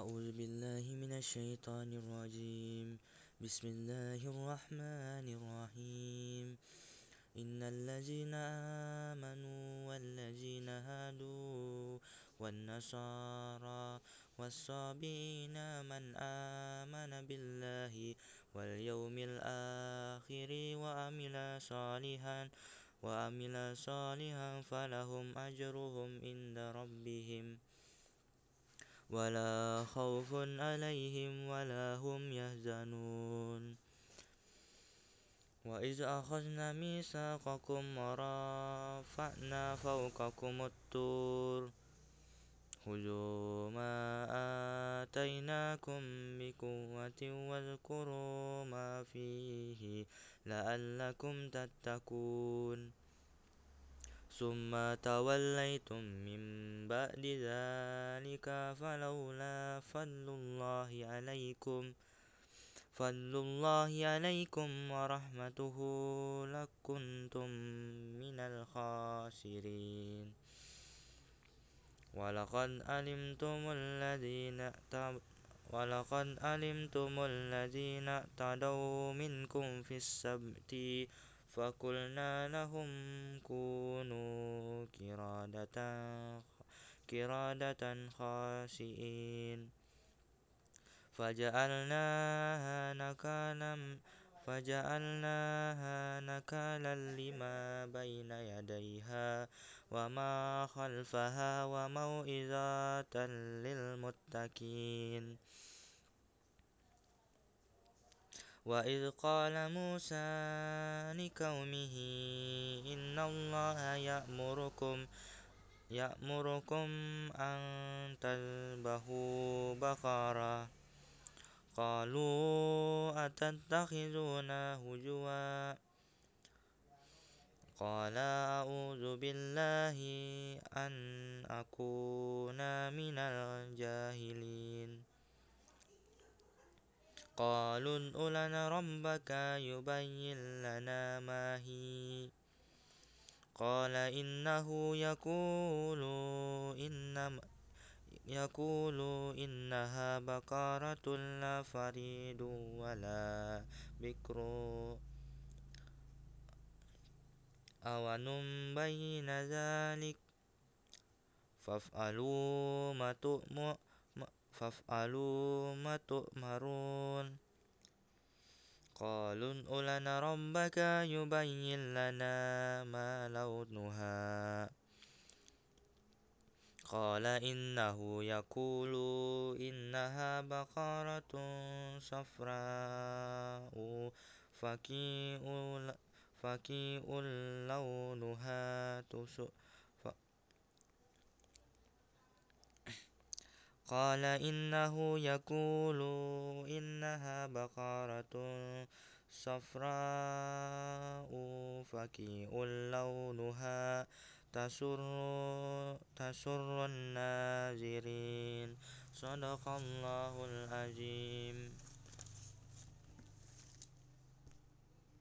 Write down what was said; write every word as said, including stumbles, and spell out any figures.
أعوذ بالله من الشيطان الرجيم. بسم الله الرحمن الرحيم. إن الذين آمنوا والذين هادوا والنصارى والصابئين من آمن بالله واليوم الآخر وعمل صالحا وعمل صالحا فلهم أجرهم عند ربهم ولا خوف عليهم ولا هم يحزنون. وإذ أخذنا ميثاقكم ورفعنا فوقكم الطور خذوا ما آتيناكم بقوة واذكروا ما فيه لعلكم تتقون. ثم توليتم من بعد ذلك فلولا فضل الله عليكم فضل الله عليكم ورحمته لكنتم من الخاسرين. ولقد علمتم الذين ولقد علمتم الذين اعتدوا منكم في السبت فقلنا لهم كونوا قردة قردة خاسئين فجعلناها نكالا فجعلناها نكالا لما بين يديها وما خلفها وموعظة للمتقين. وإذ قال موسى لقومه إن الله يأمركم يأمركم أن تذبحوا بقرة قالوا أتتخذنا هزوا قال أعوذ بالله أن أكون من الجاهلين. قالوا ادع لنا ربك يبين لنا ما هي قال إنه يقول إنما يقول إنها بقرة لا فريد ولا بكر أوان بين ذلك فافعلوا ما تؤمر فافعلوا ما تؤمرون. قالوا ادع لنا ربك يبين لنا ما لونها قال إنه يقول إنها بقرة صفراء فقيع لونها تسر قال إنه يقول إنها بقرة صفراء فقيع لونها تسر تسر الناظرين. صدق الله العظيم.